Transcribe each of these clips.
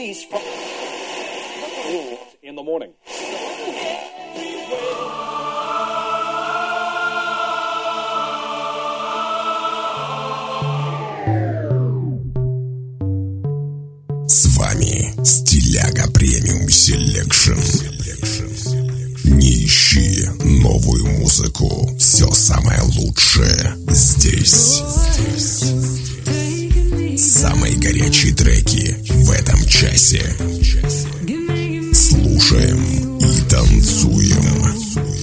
release from in the morning. С вами Стиляга Премиум Селекшн. Не ищи новую музыку. Все самое лучшее здесь. Самые горячие треки в этом часе. Слушаем и танцуем.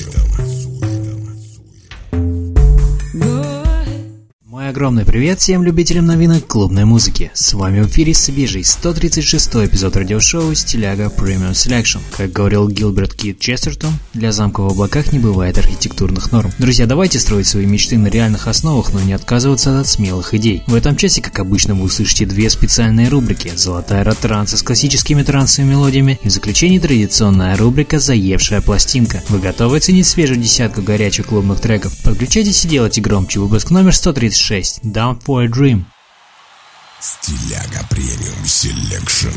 Огромный привет всем любителям новинок клубной музыки. С вами в эфире свежий 136-й эпизод радиошоу Стиляга Premium Selection. Как говорил Гилберт Кит Честертон, для замка в облаках не бывает архитектурных норм. Друзья, давайте строить свои мечты на реальных основах, но не отказываться от смелых идей. В этом часе, как обычно, вы услышите две специальные рубрики: золотая эра транса с классическими трансовыми мелодиями, и в заключении традиционная рубрика «Заевшая пластинка». Вы готовы оценить свежую десятку горячих клубных треков? Подключайтесь и делайте громче. Выпуск номер 136. Down for a Dream. Стиляга Премиум Селекшн.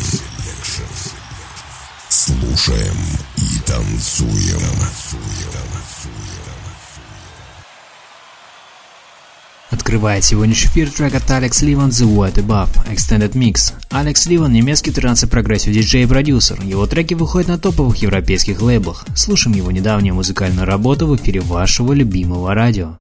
Слушаем и танцуем. Открывает сегодняшний эфир трек от Алекс Ливан «The White Above» Extended Mix. Алекс Ливан – немецкий транс и прогрессив диджей и продюсер. Его треки выходят на топовых европейских лейблах. Слушаем его недавнюю музыкальную работу в эфире вашего любимого радио.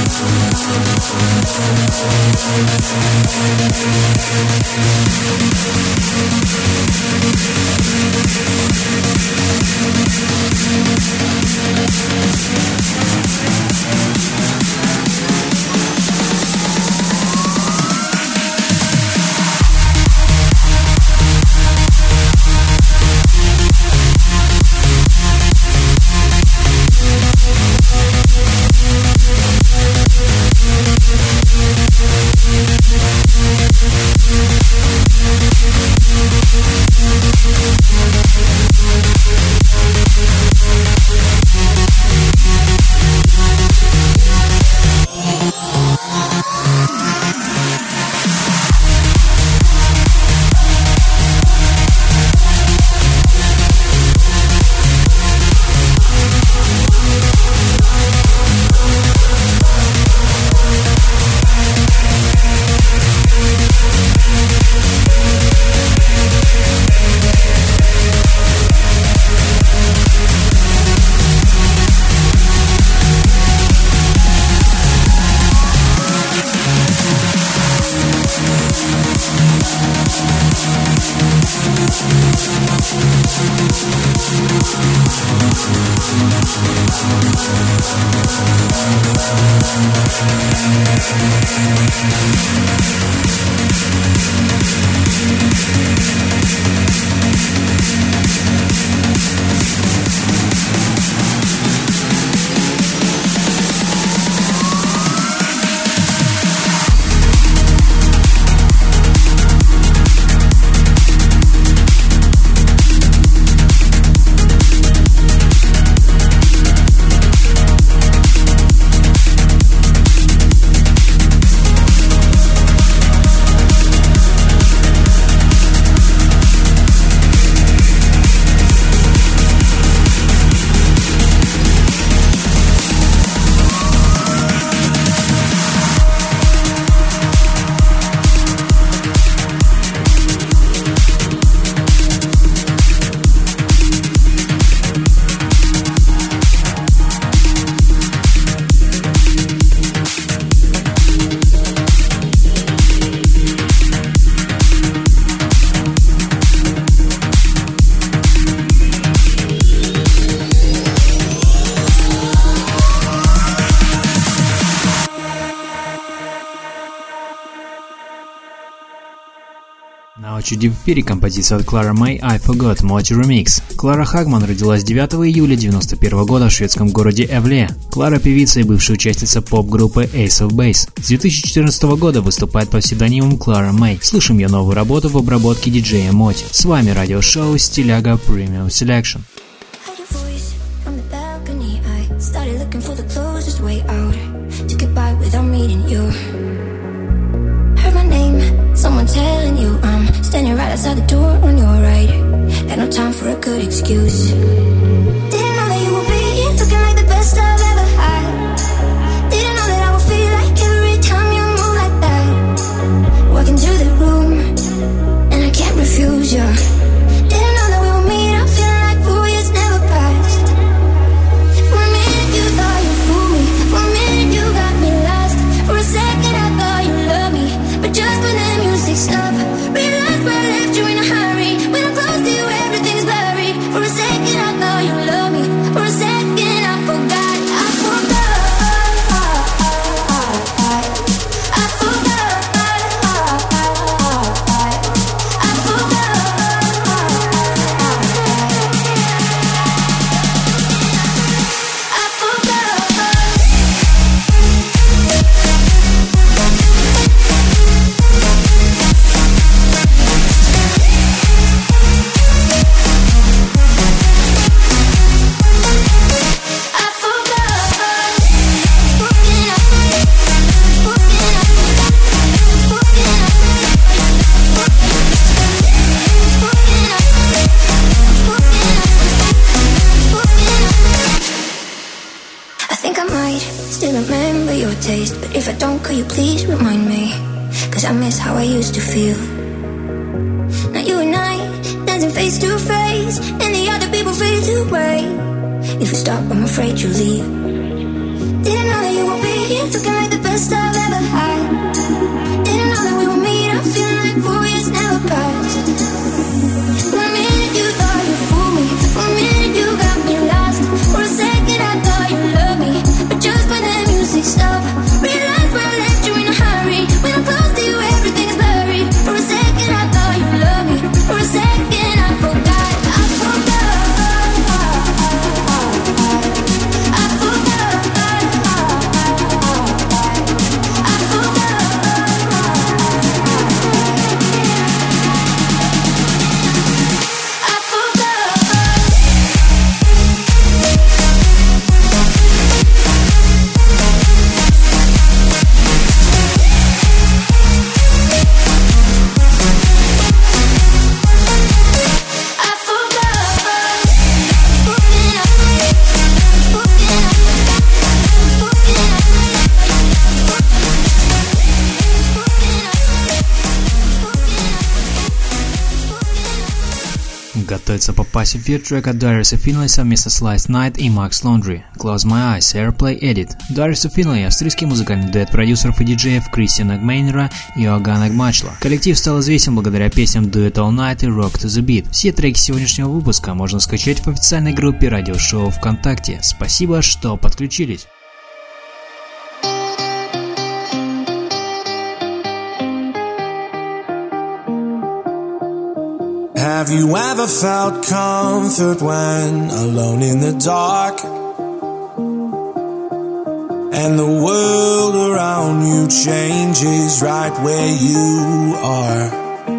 На очереди в эфире композиция от Клара Мэй «I Forgot» Multi-Remix. Клара Хагман родилась 9 июля 1991 года в шведском городе Эвле. Клара – певица и бывшая участница поп-группы Ace of Base. С 2014 года выступает под псевдонимом Клара Мэй. Слышим ее новую работу в обработке диджея Моти. С вами радиошоу Стиляга Premium Selection. Someone telling you I'm standing right outside the door on your right. Got no time for a good excuse. Didn't know that you would be here looking like the best I've ever had. Didn't know that I would feel like every time you move like that. Walk into the room and I can't refuse you. Didn't know that we would meet up feeling like 4 years never passed. For a minute you thought you fooled me. For a minute you got me lost. For a second I thought you loved me. But just when the music stopped, realized I left you in a hurry. When I'm close to you, everything's blurry. For a second, I thought you loved me. For a second, I forgot. I forgot. I forgot. I forgot. But if I don't, could you please remind me? Cause I miss how I used to feel. Now you and I, dancing face to face, and the other people fade away. If we stop, I'm afraid you'll leave. Didn't know that you would be here looking like Готовится попасть в эфир трек от Darius of Finlay совместно с Last Night и Max Laundry. Close My Eyes, Airplay Edit. Darius of Finlay – австрийский музыкальный дуэт продюсеров и диджеев Кристиана Гмейнера и Иоганна Гмачла. Коллектив стал известен благодаря песням Do It All Night и Rock to the Beat. Все треки сегодняшнего выпуска можно скачать в официальной группе радиошоу ВКонтакте. Спасибо, что подключились. Have you ever felt comfort when alone in the dark and the world around you changes right where you are?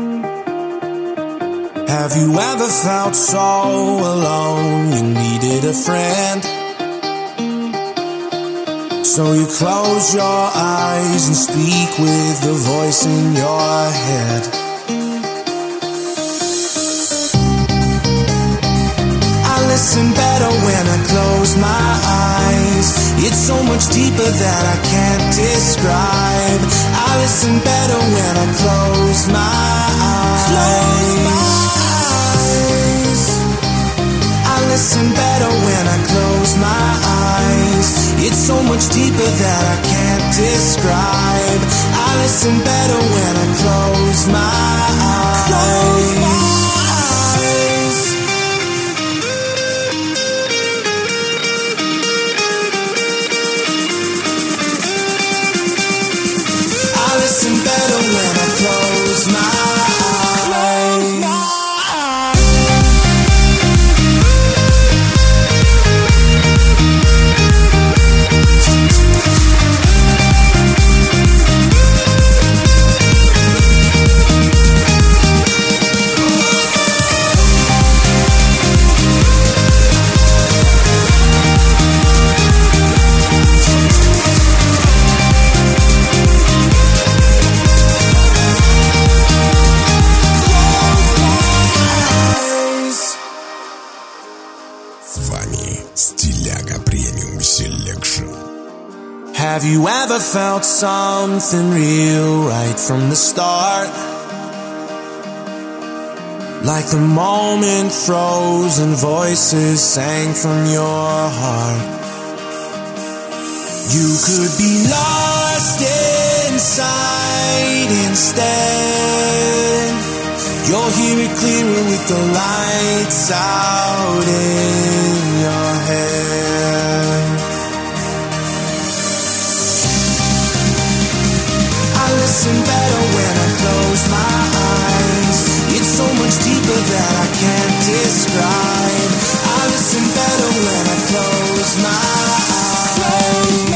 Have you ever felt so alone you needed a friend? So you close your eyes and speak with the voice in your head. Listen better when I close my eyes. It's so much deeper that I can't describe. I listen better when I close my eyes. I listen better when I close my eyes. It's so much deeper that I can't describe. I listen better when I close my eyes. Listen better when I close my eyes. Have you ever felt something real right from the start? Like the moment froze and voices sang from your heart. You could be lost inside instead. You'll hear it clearer with the lights out in your head. Listen better when I close my eyes. It's so much deeper that I can't describe. I listen better when I close my eyes.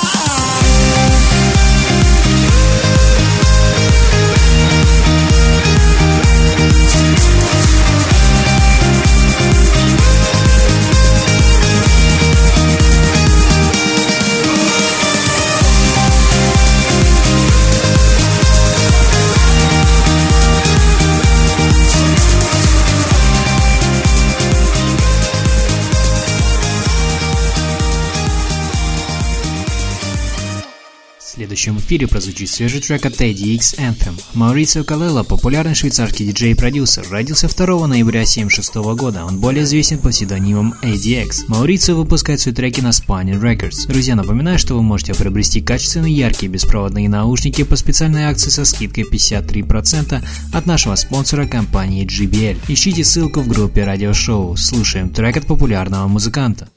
В следующем эфире прозвучит свежий трек от ADX Anthem. Маурицио Калелло, популярный швейцарский диджей и продюсер, родился 2 ноября 1976 года. Он более известен под псевдонимом ADX. Маурицио выпускает свои треки на Spinning Records. Друзья, напоминаю, что вы можете приобрести качественные яркие беспроводные наушники по специальной акции со скидкой 53% от нашего спонсора компании JBL. Ищите ссылку в группе радиошоу. Слушаем трек от популярного музыканта.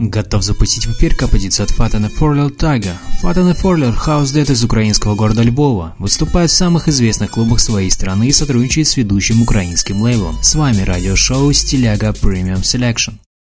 Готов запустить в эфир композицию от Fat and Furler Tiger. Fat and Furler – хаус-дэт из украинского города Львова. Выступает в самых известных клубах своей страны и сотрудничает с ведущим украинским лейблом. С вами радиошоу «Стиляга Premium Selection».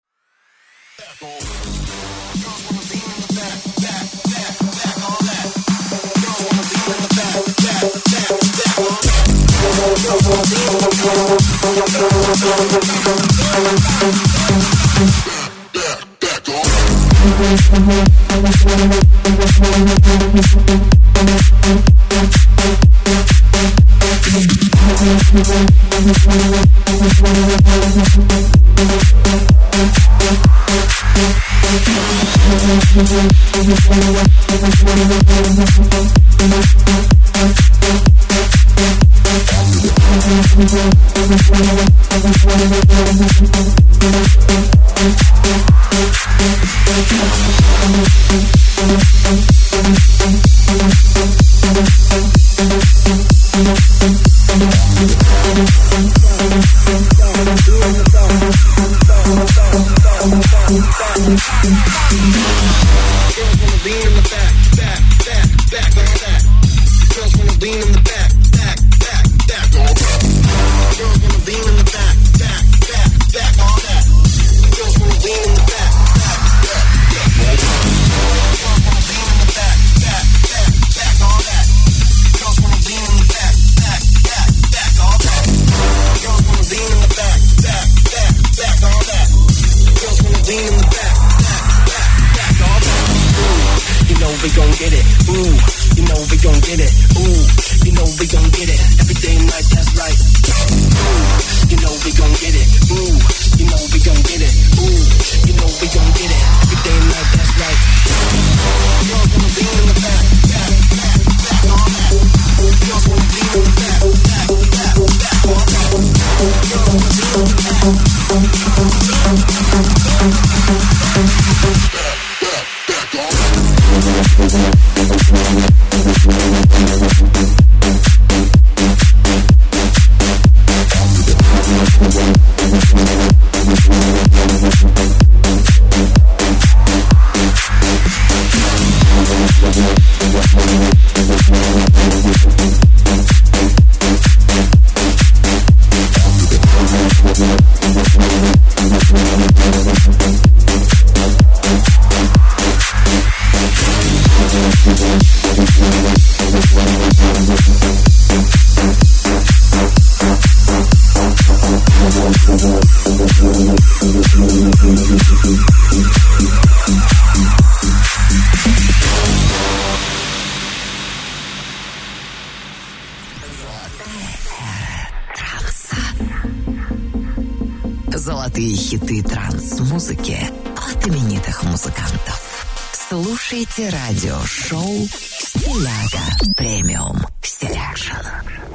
Золотые хиты транс-музыки от именитых музыкантов. Слушайте радиошоу «Стиляга Premium Selection».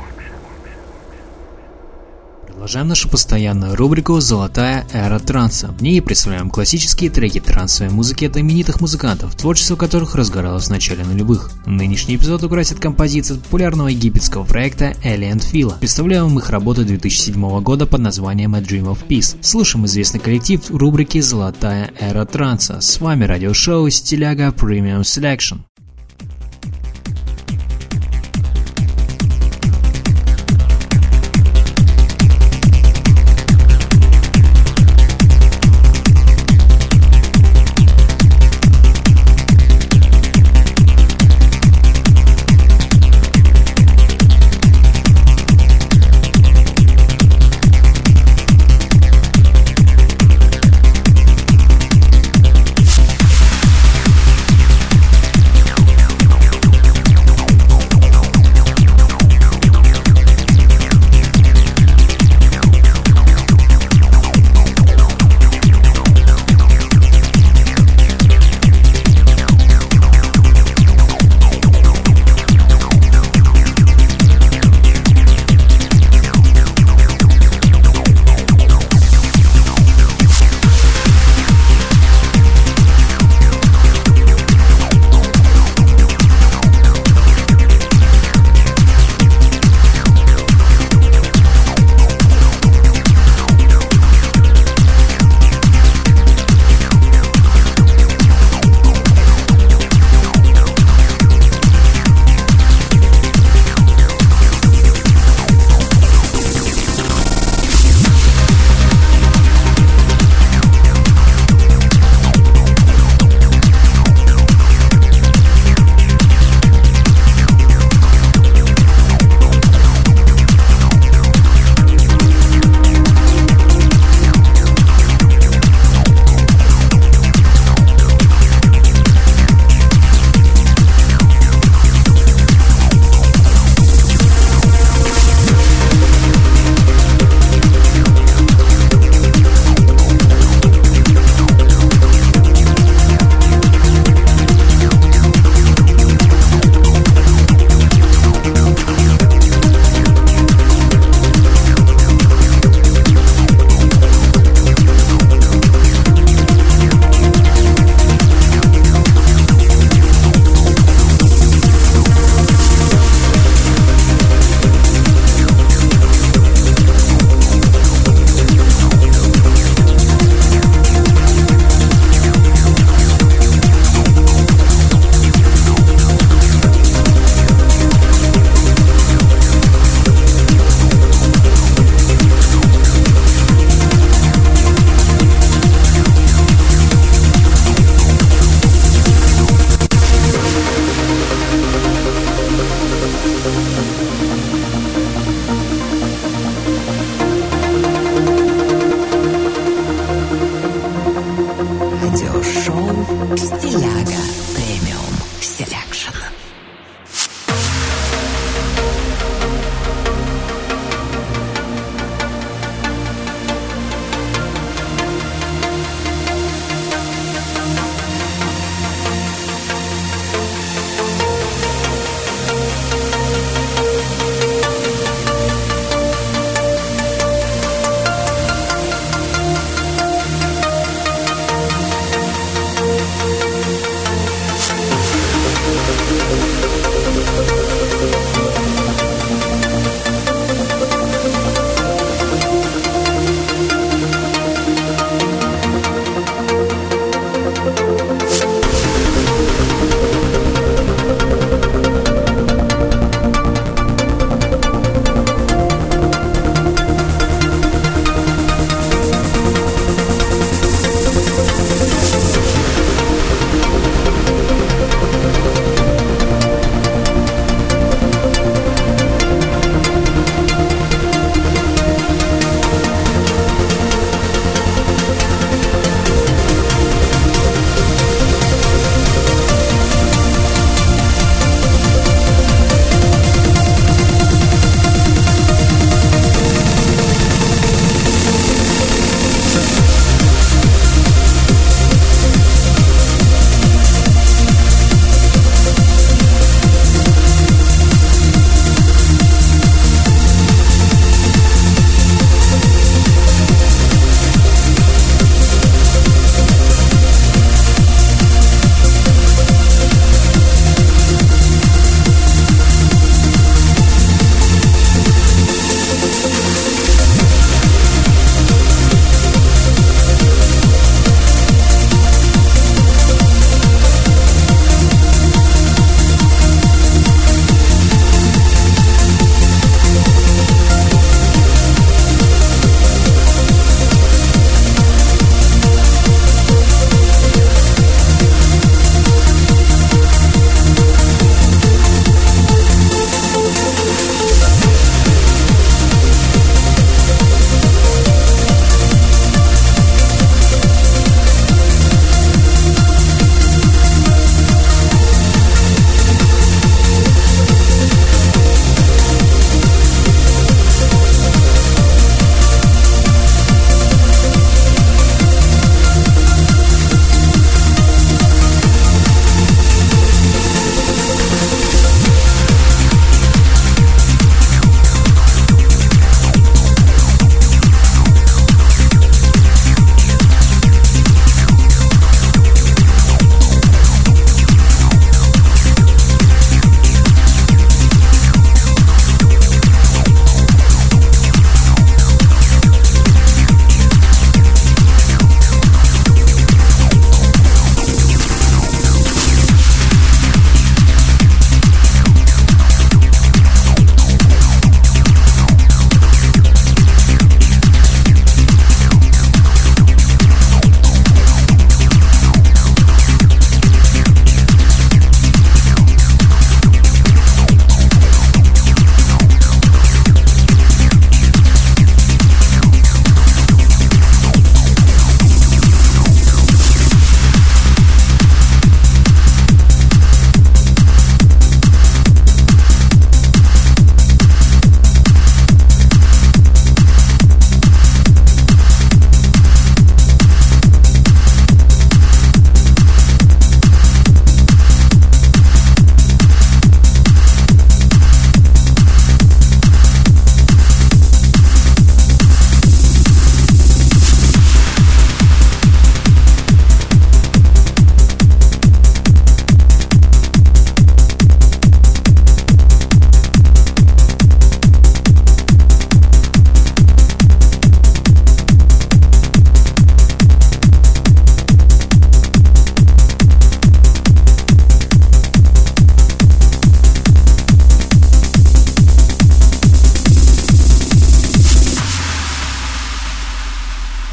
Продолжаем нашу постоянную рубрику «Золотая эра транса». В ней представляем классические треки трансовой музыки от именитых музыкантов, творчество которых разгоралось в начале нулевых. Нынешний эпизод украсит композиция популярного египетского проекта Элли энд Фила. Представляем их работу 2007 года под названием A Dream of Peace. Слушаем известный коллектив в рубрике «Золотая эра транса». С вами радиошоу «Стиляга Premium Selection».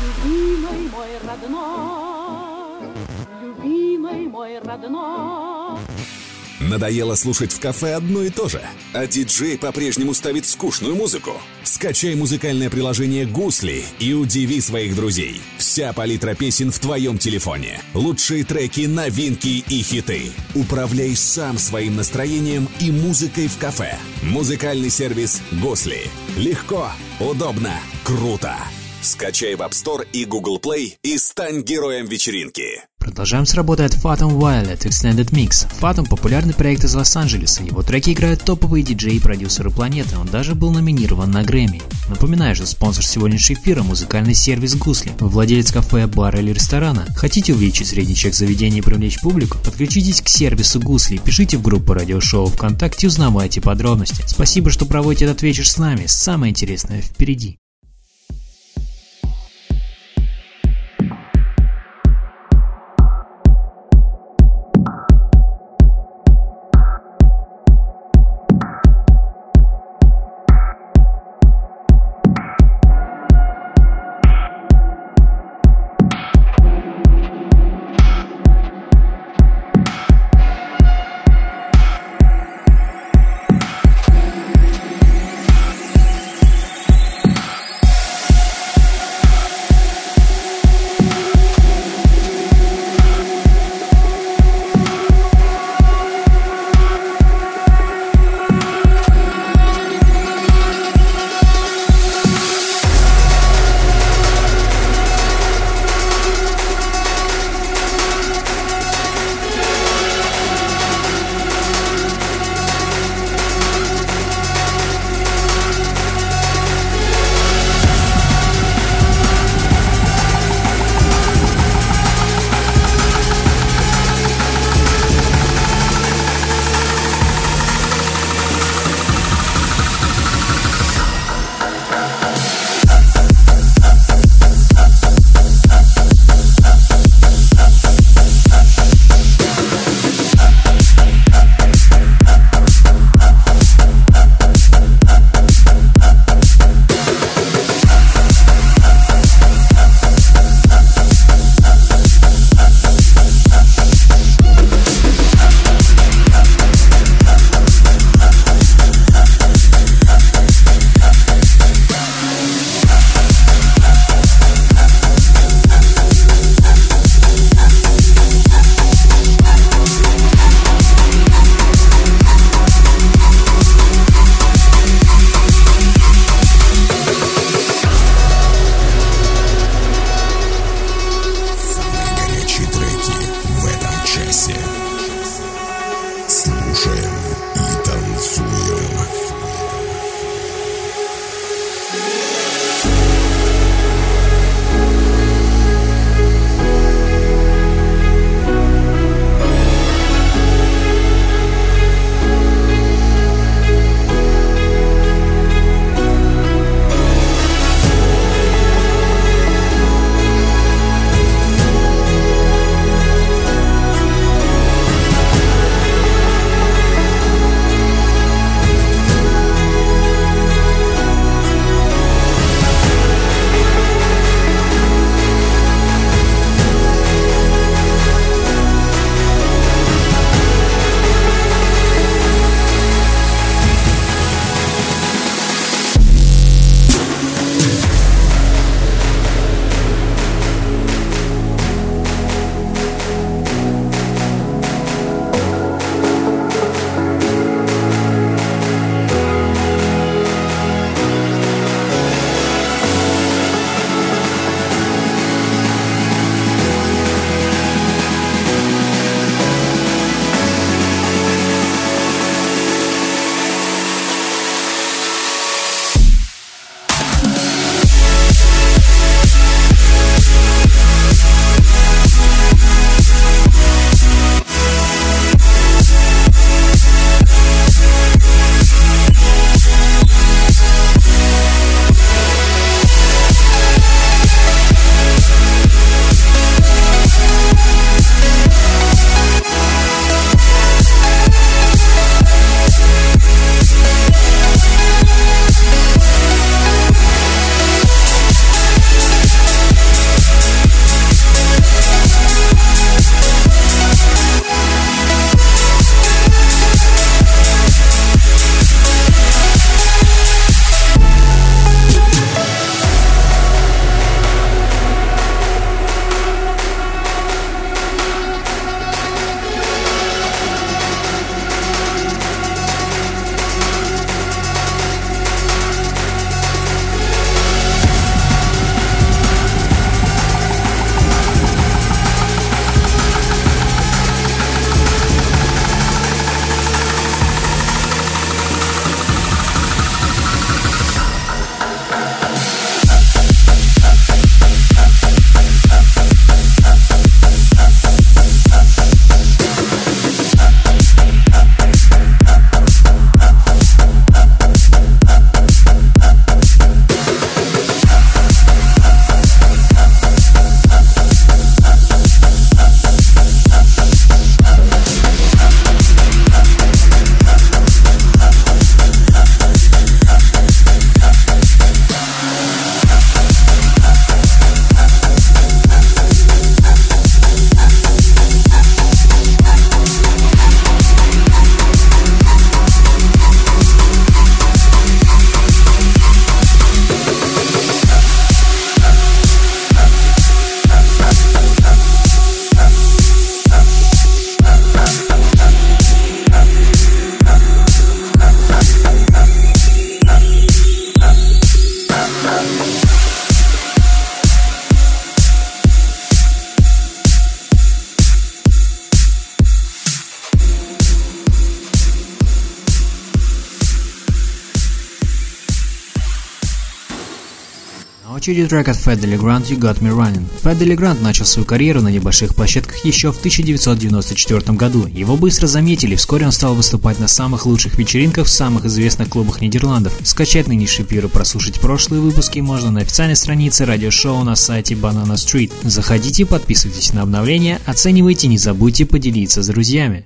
Любимый мой родной, любимый мой родной. Надоело слушать в кафе одно и то же, а диджей по-прежнему ставит скучную музыку? Скачай музыкальное приложение «Гусли» и удиви своих друзей. Вся палитра песен в твоем телефоне. Лучшие треки, новинки и хиты. Управляй сам своим настроением и музыкой в кафе. Музыкальный сервис «Гусли». Легко, удобно, круто. Скачай в App Store и Google Play и стань героем вечеринки. Продолжаем с работы от Phantom Violet Extended Mix. Phantom — популярный проект из Лос-Анджелеса. Его треки играют топовые диджеи и продюсеры планеты. Он даже был номинирован на Грэмми. Напоминаю, что спонсор сегодняшнего эфира — музыкальный сервис «Гусли». Вы владелец кафе, бара или ресторана? Хотите увеличить средний чек заведения и привлечь публику? Подключитесь к сервису «Гусли», пишите в группу радиошоу ВКонтакте и узнавайте подробности. Спасибо, что проводите этот вечер с нами. Самое интересное впереди. очереди трек от Fat Legrand «You Got Me Running». Fat Legrand начал свою карьеру на небольших площадках еще в 1994 году. Его быстро заметили, вскоре он стал выступать на самых лучших вечеринках в самых известных клубах Нидерландов. Скачать нынешний эфир и прослушать прошлые выпуски можно на официальной странице радиошоу на сайте Banana Street. Заходите, подписывайтесь на обновления, оценивайте, не забудьте поделиться с друзьями.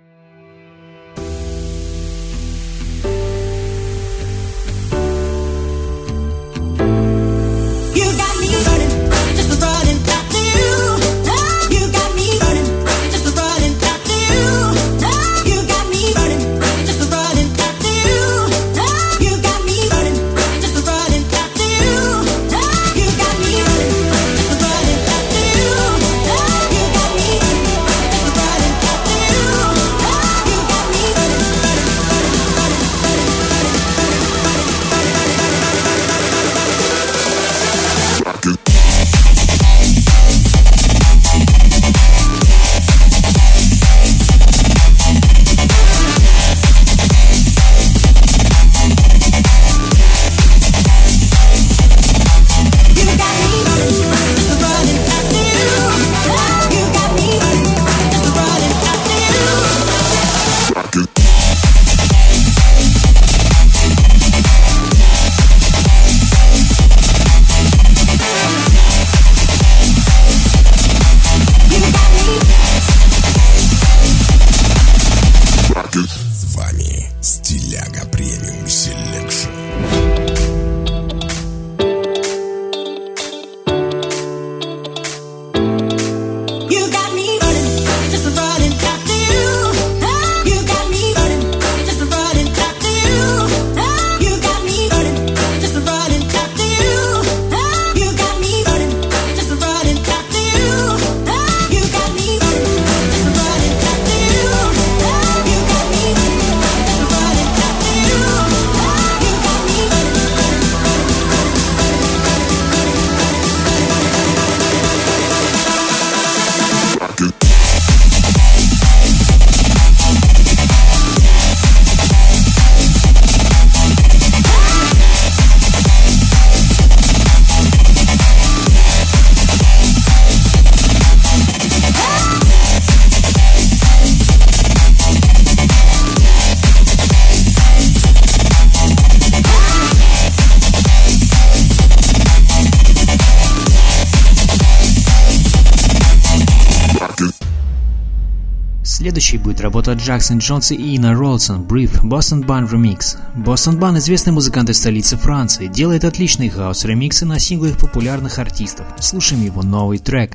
Следующей будет работа Джексон Джонса и Ина Ролсон «Brief» Boston Band Remix. Boston Band, известный музыкант из столицы Франции, делает отличные хаус-ремиксы на синглы их популярных артистов. Слушаем его новый трек.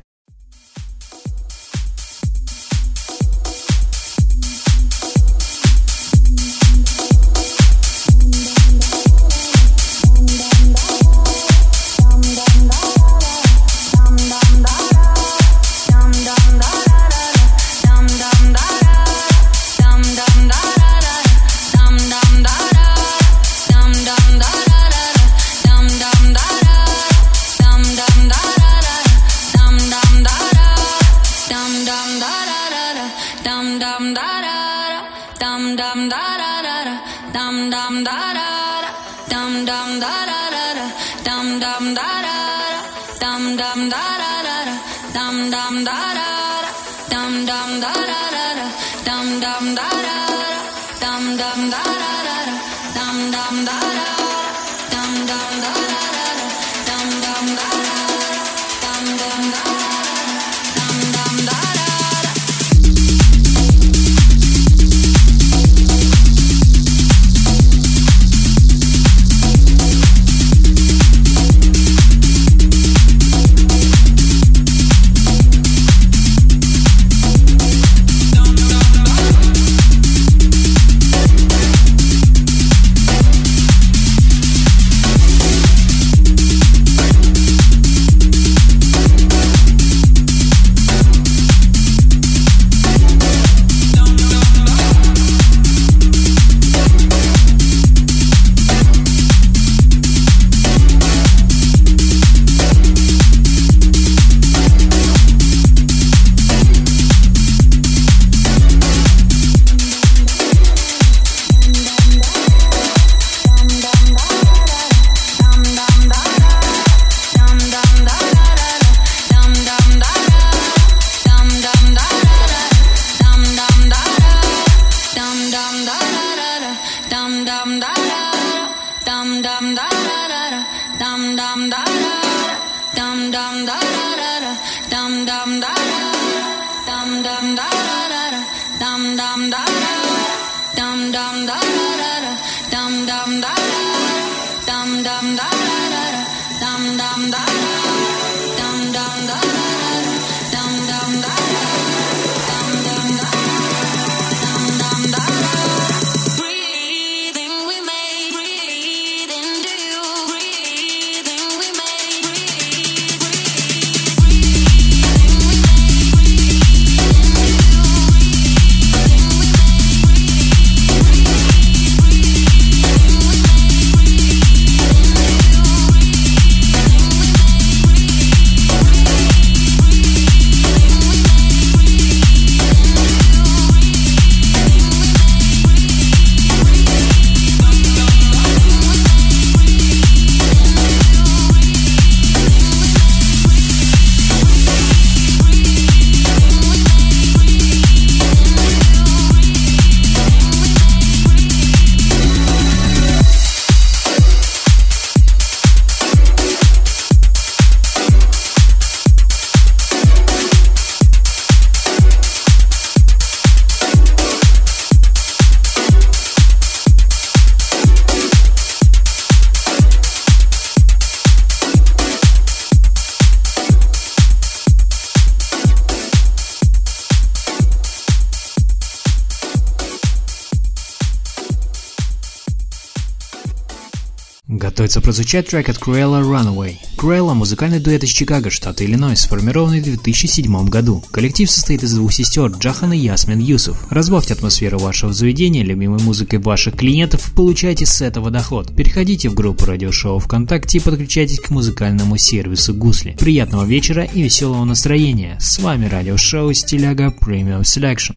Готовится прозвучать трек от Cruella Runaway. Cruella – музыкальный дуэт из Чикаго, штата Иллинойс, сформированный в 2007 году. Коллектив состоит из двух сестер Джахан и Ясмин Юсуф. Разбавьте атмосферу вашего заведения любимой музыкой ваших клиентов и получайте с этого доход. Переходите в группу радиошоу ВКонтакте и подключайтесь к музыкальному сервису Гусли. Приятного вечера и веселого настроения. С вами радиошоу Стиляга Premium Selection.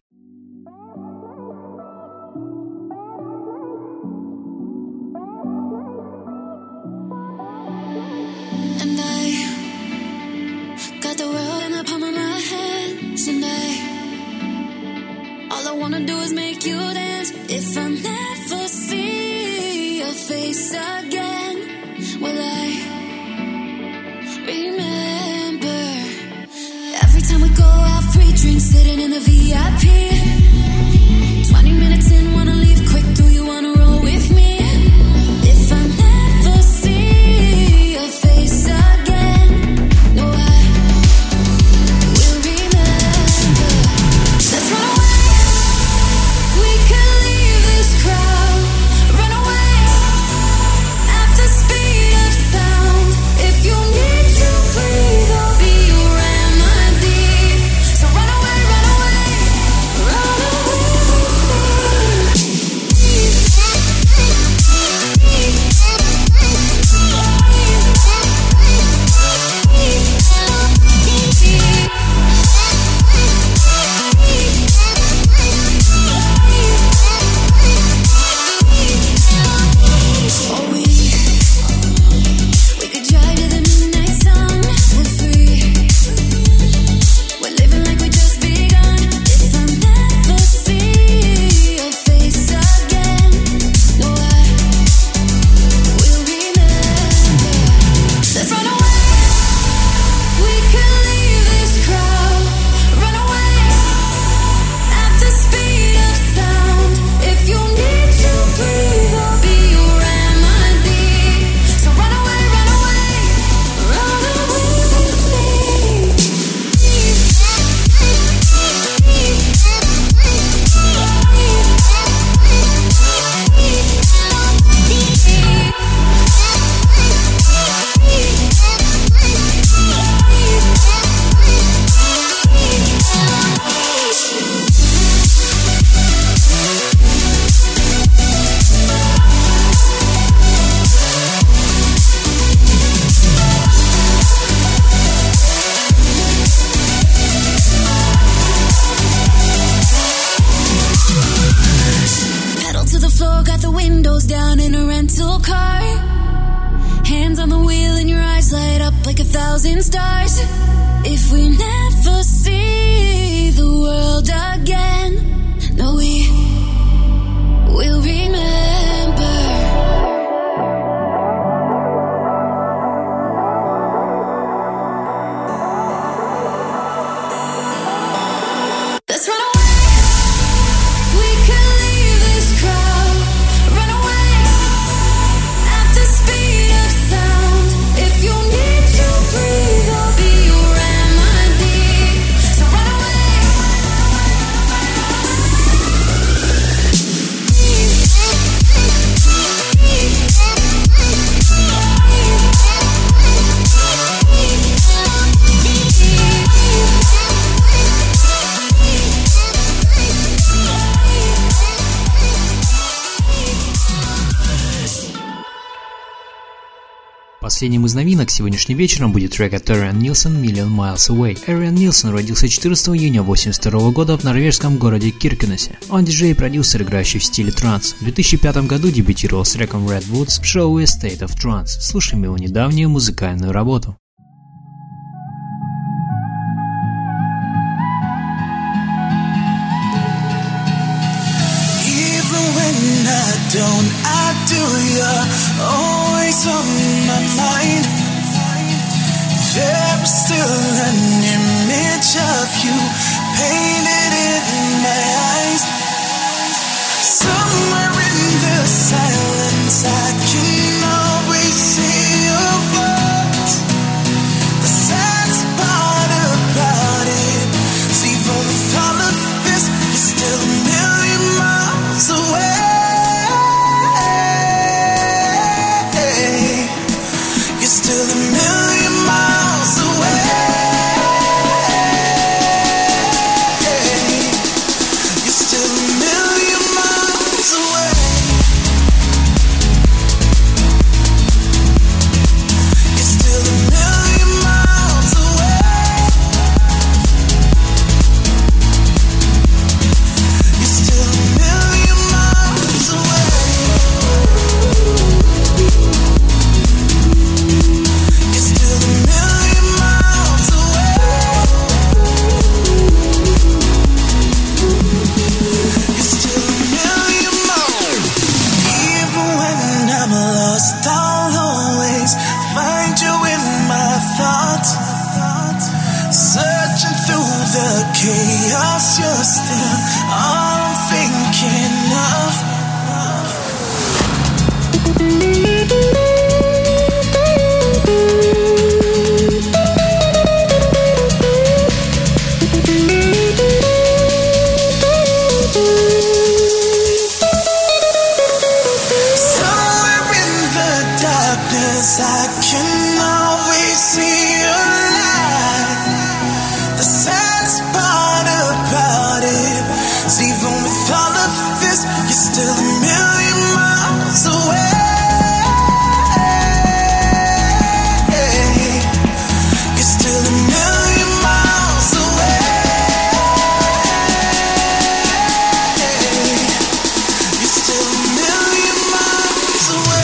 If I never see your face again, will I remember? Every time we go out, free drinks, sitting in the VIP. 20 minutes in, wanna leave quick, do you wanna roll with me? If I never see your face again, no, I will remember. Let's run away. We can leave this crowd, run away at the speed of sound. If you need to breathe, I'll be your remedy. So run away, run away, run away with we could drive to the midnight sun. We're free. We're living like we just begun. If I never see your face again, no, I will remember. Let's run away. We can leave this crowd, run away at the speed of sound. If you need to breathe, I'll be your remedy. So run away, run away, run away with me. Pedal to the floor, got the windows down in a rental car. Hands on the wheel and your eyes light up like 1,000 stars. If we never see the world again, no, we will remember. Последним из новинок сегодняшним вечером будет трек от Arian Nilsson «Million Miles Away». Arian Nilsson родился 14 июня 1982 года в норвежском городе Киркенесе. Он диджей и продюсер, играющий в стиле транс. В 2005 году дебютировал с треком Redwoods в шоу A State of Trance. Слушаем его недавнюю музыкальную работу. I do, you're always on my mind. There is still an image of you painted in my eyes. Somewhere in the silence I can always see your voice. The sad part about it is even with all of this, you're still a million miles away. Still a million miles away. You're still a million miles away. You're still a million miles away. You're still a million miles away. I'll always find you in my thoughts. Searching through the chaos, you're still all I'm thinking of. I can always see your light. The saddest part about it is even with all of this, you're still a million miles away. You're still a million miles away. You're still a million miles away.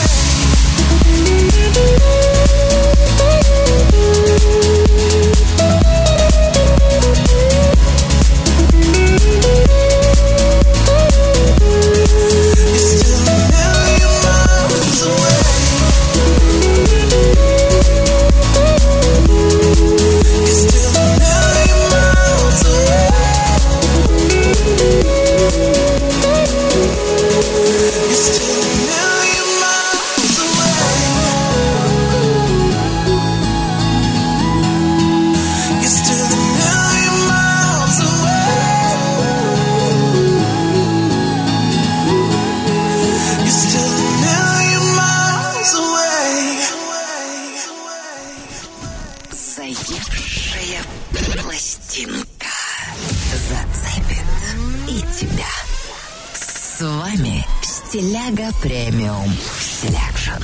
Заевшая пластинка зацепит и тебя. С вами Стиляга Премиум Селекшн.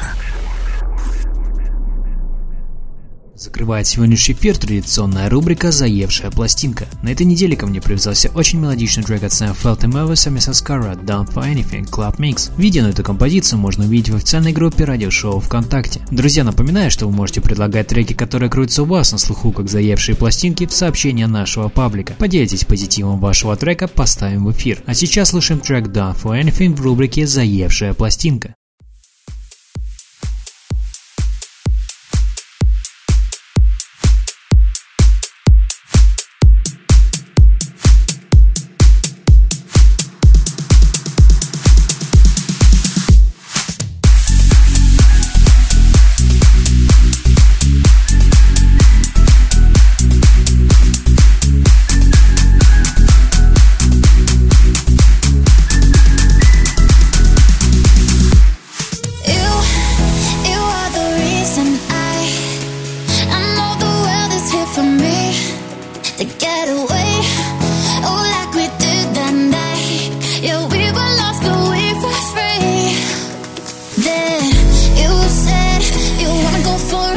Закрывает сегодняшний эфир традиционная рубрика «Заевшая пластинка». На этой неделе ко мне привязался очень мелодичный трек от Sam Felton Melvis и Mrs. Cara «Down for Anything» Club Mix. Видео на эту композицию можно увидеть в официальной группе радиошоу ВКонтакте. Друзья, напоминаю, что вы можете предлагать треки, которые крутятся у вас на слуху, как заевшие пластинки, в сообщения нашего паблика. Поделитесь позитивом вашего трека, поставим в эфир. А сейчас слушаем трек «Down for Anything» в рубрике «Заевшая пластинка». For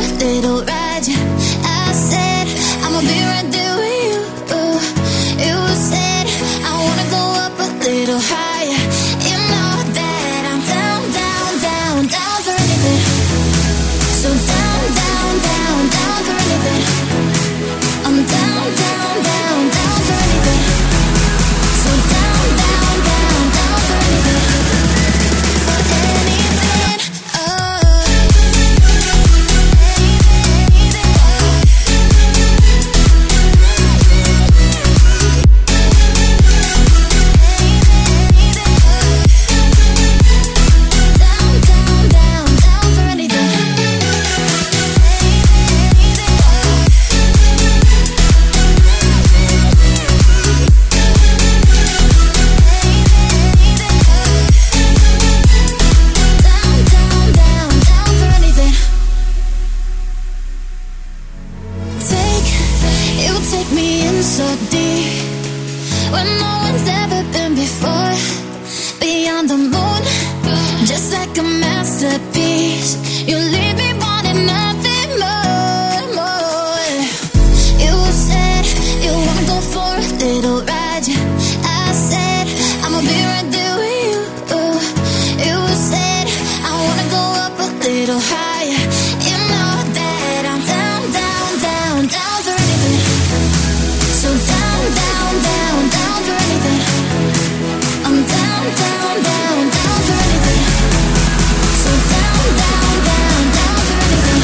take me in so deep where no one's ever been before. Beyond the moon, just like a masterpiece. You leave me wanting nothing more. You said you wanna go for a little ride. I said I'ma be right there with you. You said I wanna go up a little higher. You know that I'm down, down, down, down for anything. So down, down, down, down for anything. I'm down, down, down, down for anything. So down, down, down, down for anything.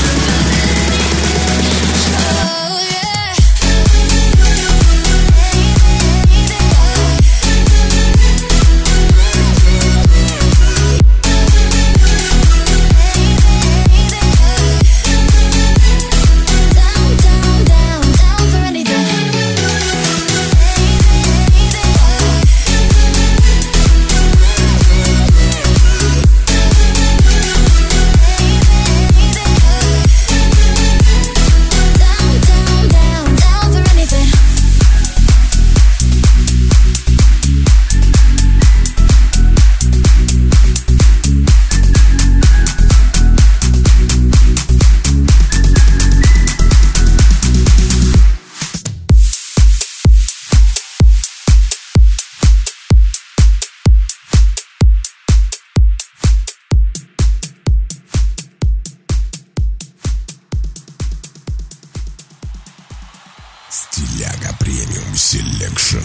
Oh yeah. Down, down, down, down for anything. Down, down, down, down for anything. Стиляга премиум селекшн.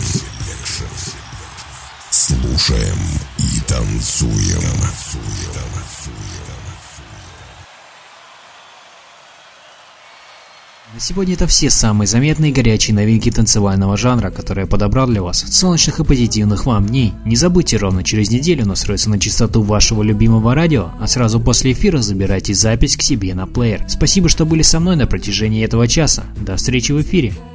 Слушаем и танцуем. На сегодня это все самые заметные и горячие новинки танцевального жанра, которые я подобрал для вас. Солнечных и позитивных вам дней. Не забудьте, ровно через неделю настроиться на частоту вашего любимого радио, а сразу после эфира забирайте запись к себе на плеер. Спасибо, что были со мной на протяжении этого часа. До встречи в эфире.